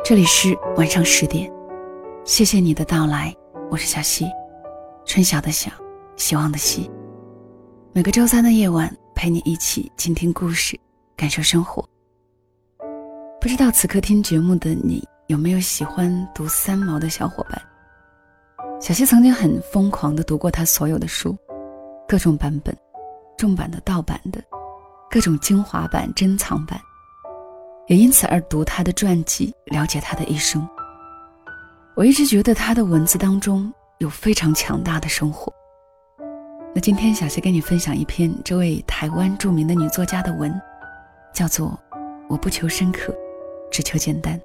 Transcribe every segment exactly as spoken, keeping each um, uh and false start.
这里是晚上十点，谢谢你的到来，我是小溪，春晓的晓，希望的希。每个周三的夜晚，陪你一起倾听故事，感受生活。不知道此刻听节目的你，有没有喜欢读三毛的小伙伴？小溪曾经很疯狂地读过他所有的书，各种版本，重版的、盗版的，各种精华版、珍藏版，也因此而读他的传记，了解他的一生。我一直觉得他的文字当中有非常强大的生活。那今天小溪跟你分享一篇这位台湾著名的女作家的文，叫做《我不求深刻，只求简单》。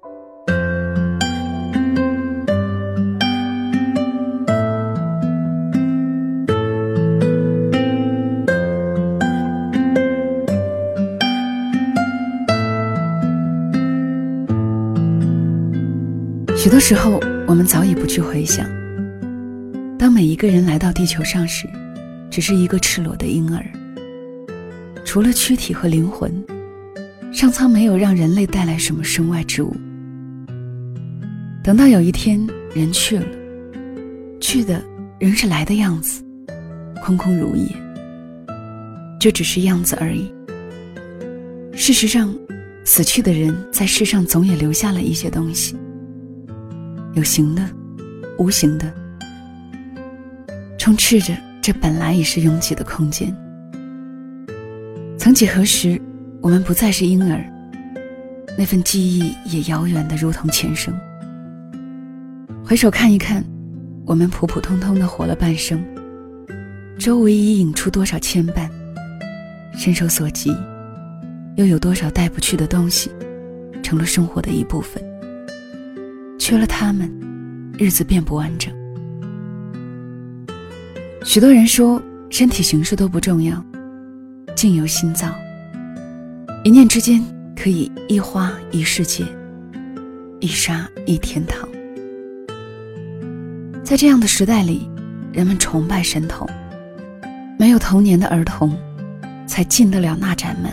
许多时候我们早已不去回想，当每一个人来到地球上时，只是一个赤裸的婴儿，除了躯体和灵魂，上苍没有让人类带来什么身外之物。等到有一天人去了，去的仍是来的样子，空空如也，这只是样子而已。事实上，死去的人在世上总也留下了一些东西，有形的，无形的，充斥着这本来已是拥挤的空间。曾几何时，我们不再是婴儿，那份记忆也遥远得如同前生。回首看一看，我们普普通通地活了半生，周围已引出多少牵绊，伸手所及，又有多少带不去的东西，成了生活的一部分。缺了他们，日子便不完整。许多人说身体形式都不重要，境由心造，一念之间可以一花一世界，一沙一天堂。在这样的时代里，人们崇拜神童，没有童年的儿童才进得了那盏门。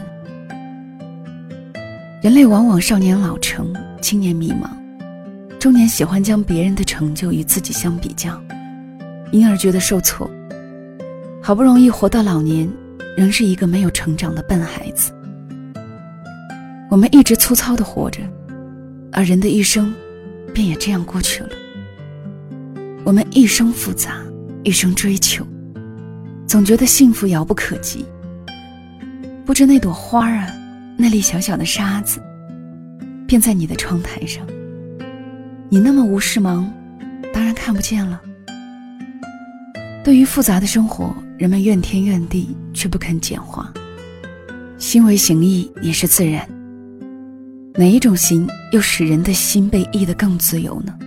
人类往往少年老成，青年迷茫，中年喜欢将别人的成就与自己相比较，因而觉得受挫。好不容易活到老年，仍是一个没有成长的笨孩子。我们一直粗糙地活着，而人的一生便也这样过去了。我们一生复杂，一生追求，总觉得幸福遥不可及。不知那朵花啊，那粒小小的沙子，便在你的窗台上，你那么无事忙，当然看不见了。对于复杂的生活，人们怨天怨地，却不肯简化。心为形役也是自然，哪一种形又使人的心被役得更自由呢？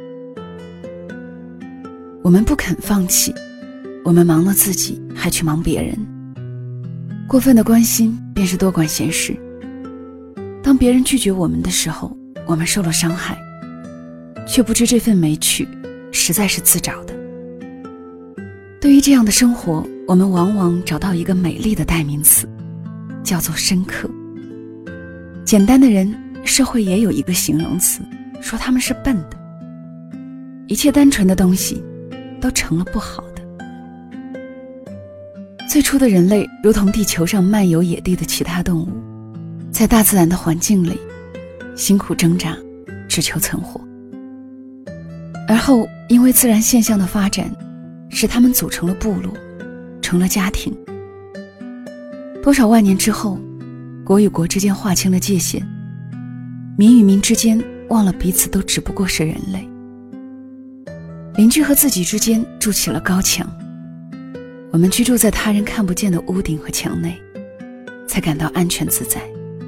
我们不肯放弃，我们忙了自己，还去忙别人。过分的关心便是多管闲事。当别人拒绝我们的时候，我们受了伤害，却不知这份没趣实在是自找的。对于这样的生活，我们往往找到一个美丽的代名词，叫做深刻。简单的人，社会也有一个形容词，说他们是笨的。一切单纯的东西都成了不好的。最初的人类如同地球上漫游野地的其他动物，在大自然的环境里辛苦挣扎，只求存活。而后因为自然现象的发展，使他们组成了部落，成了家庭。多少万年之后，国与国之间划清了界限，民与民之间忘了彼此都只不过是人类。邻居和自己之间筑起了高墙，我们居住在他人看不见的屋顶和墙内，才感到安全自在。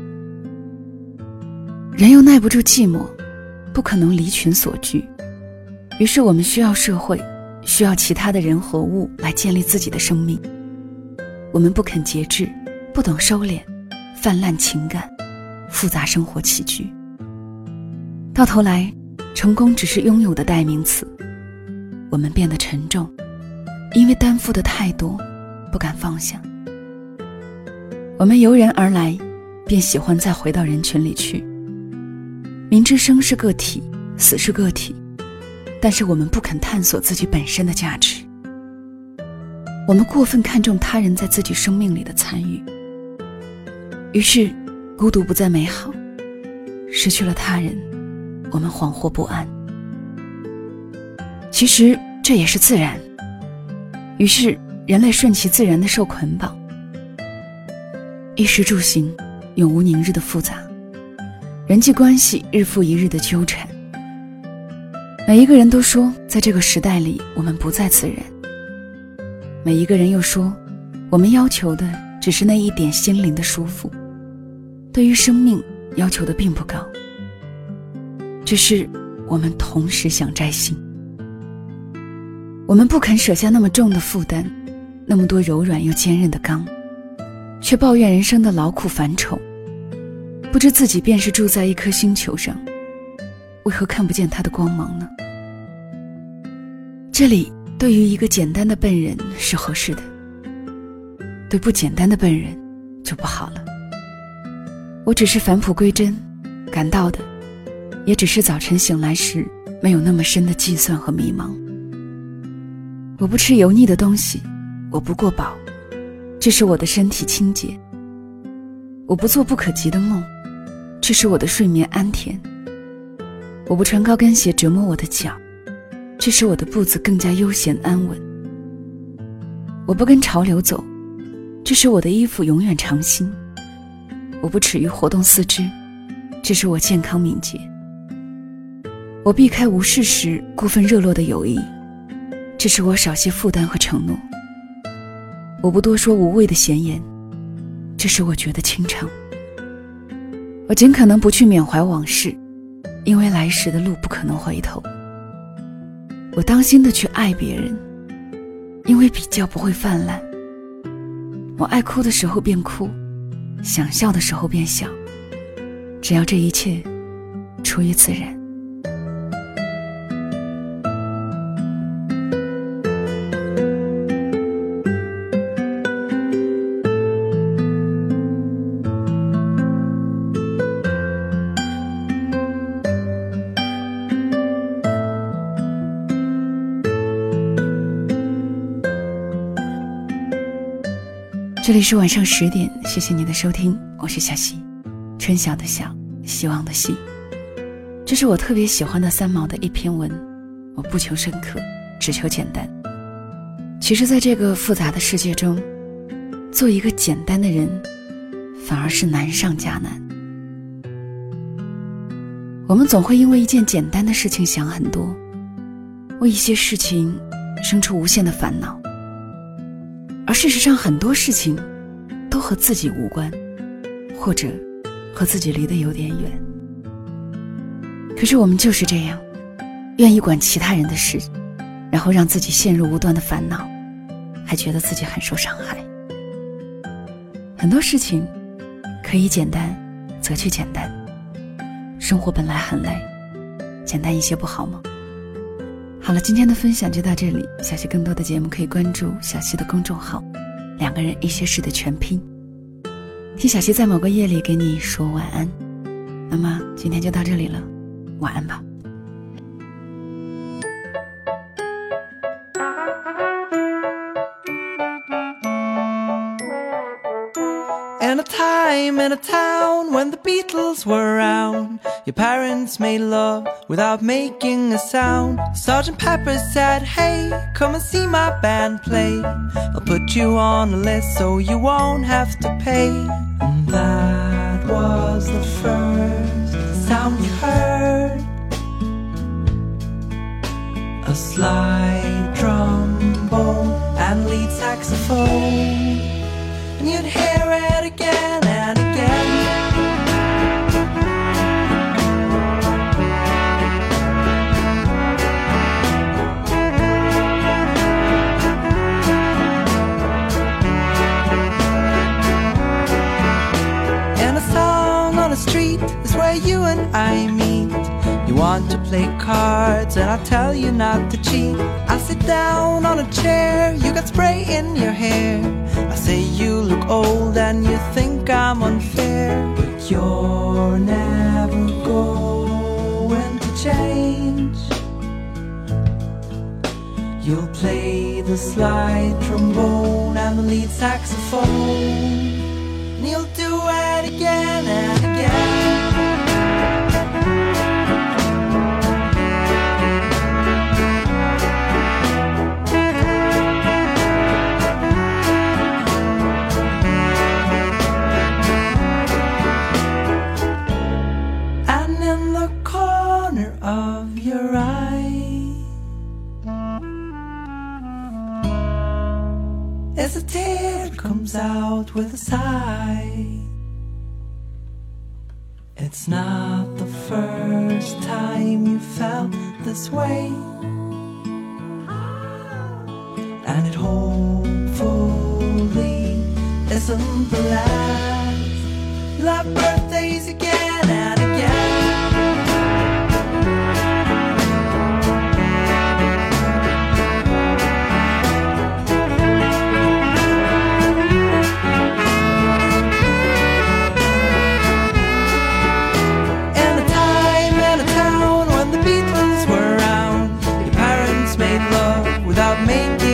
人又耐不住寂寞，不可能离群所居，于是我们需要社会，需要其他的人和物来建立自己的生命。我们不肯节制，不懂收敛，泛滥情感，复杂生活起居。到头来，成功只是拥有的代名词。我们变得沉重，因为担负的太多，不敢放下。我们由人而来，便喜欢再回到人群里去。 明知生是个体，死是个体，但是我们不肯探索自己本身的价值。我们过分看重他人在自己生命里的参与，于是孤独不再美好，失去了他人，我们惶惑不安。其实这也是自然，于是人类顺其自然地受捆绑，衣食住行永无宁日的复杂，人际关系日复一日的纠缠。每一个人都说在这个时代里我们不再自然，每一个人又说我们要求的只是那一点心灵的舒服，对于生命要求的并不高，只是我们同时想摘星。我们不肯舍下那么重的负担，那么多柔软又坚韧的钢，却抱怨人生的劳苦繁重，不知自己便是住在一颗星球上，为何看不见它的光芒呢？这里对于一个简单的笨人是合适的，对不简单的笨人就不好了。我只是返璞归真，感到的也只是早晨醒来时没有那么深的计算和迷茫。我不吃油腻的东西，我不过饱，这是我的身体清洁。我不做不可及的梦，这是我的睡眠安恬。我不穿高跟鞋折磨我的脚，这使我的步子更加悠闲安稳。我不跟潮流走，这使我的衣服永远长新。我不耻于活动四肢，这使我健康敏捷。我避开无事时过分热络的友谊，这使我少些负担和承诺。我不多说无谓的闲言，这使我觉得清畅。我尽可能不去缅怀往事，因为来时的路不可能回头。我当心地去爱别人，因为比较不会泛滥。我爱哭的时候便哭，想笑的时候便笑，只要这一切出于自然。这里是晚上十点，谢谢你的收听，我是小溪，春晓的晓，希望的希。这是我特别喜欢的三毛的一篇文，我不求深刻，只求简单。其实在这个复杂的世界中，做一个简单的人反而是难上加难。我们总会因为一件简单的事情想很多，为一些事情生出无限的烦恼，而事实上很多事情都和自己无关，或者和自己离得有点远。可是我们就是这样，愿意管其他人的事，然后让自己陷入无端的烦恼，还觉得自己很受伤害。很多事情可以简单则去简单，生活本来很累，简单一些不好吗？好了，今天的分享就到这里，小溪更多的节目可以关注小溪的公众号，两个人一些事的全拼，听小溪在某个夜里给你说晚安。那么今天就到这里了，晚安吧。 In a time, in a town, when the Beatles were around, your parents made love without making a sound. Sergeant Pepper said, hey, come and see my band play. I'll put you on a list so you won't have to pay. And that was the first sound you heard, a slide trombone and lead saxophone. And you'd hear it again and again. And a song on a street is where you and I meet. You want to play cards and I tell you not to cheat. I sit down on a chair, you got spray in your hair. I say you look old and you think I'm unfair, but you're never going change. You'll play the slide trombone and the lead saxophone, and you'll do it again and again. And in the corner of your eye as a tear comes out with a sigh. It's not the first time you felt this way, and it hopefully isn't the last. You'll have birthdays again and again. Without making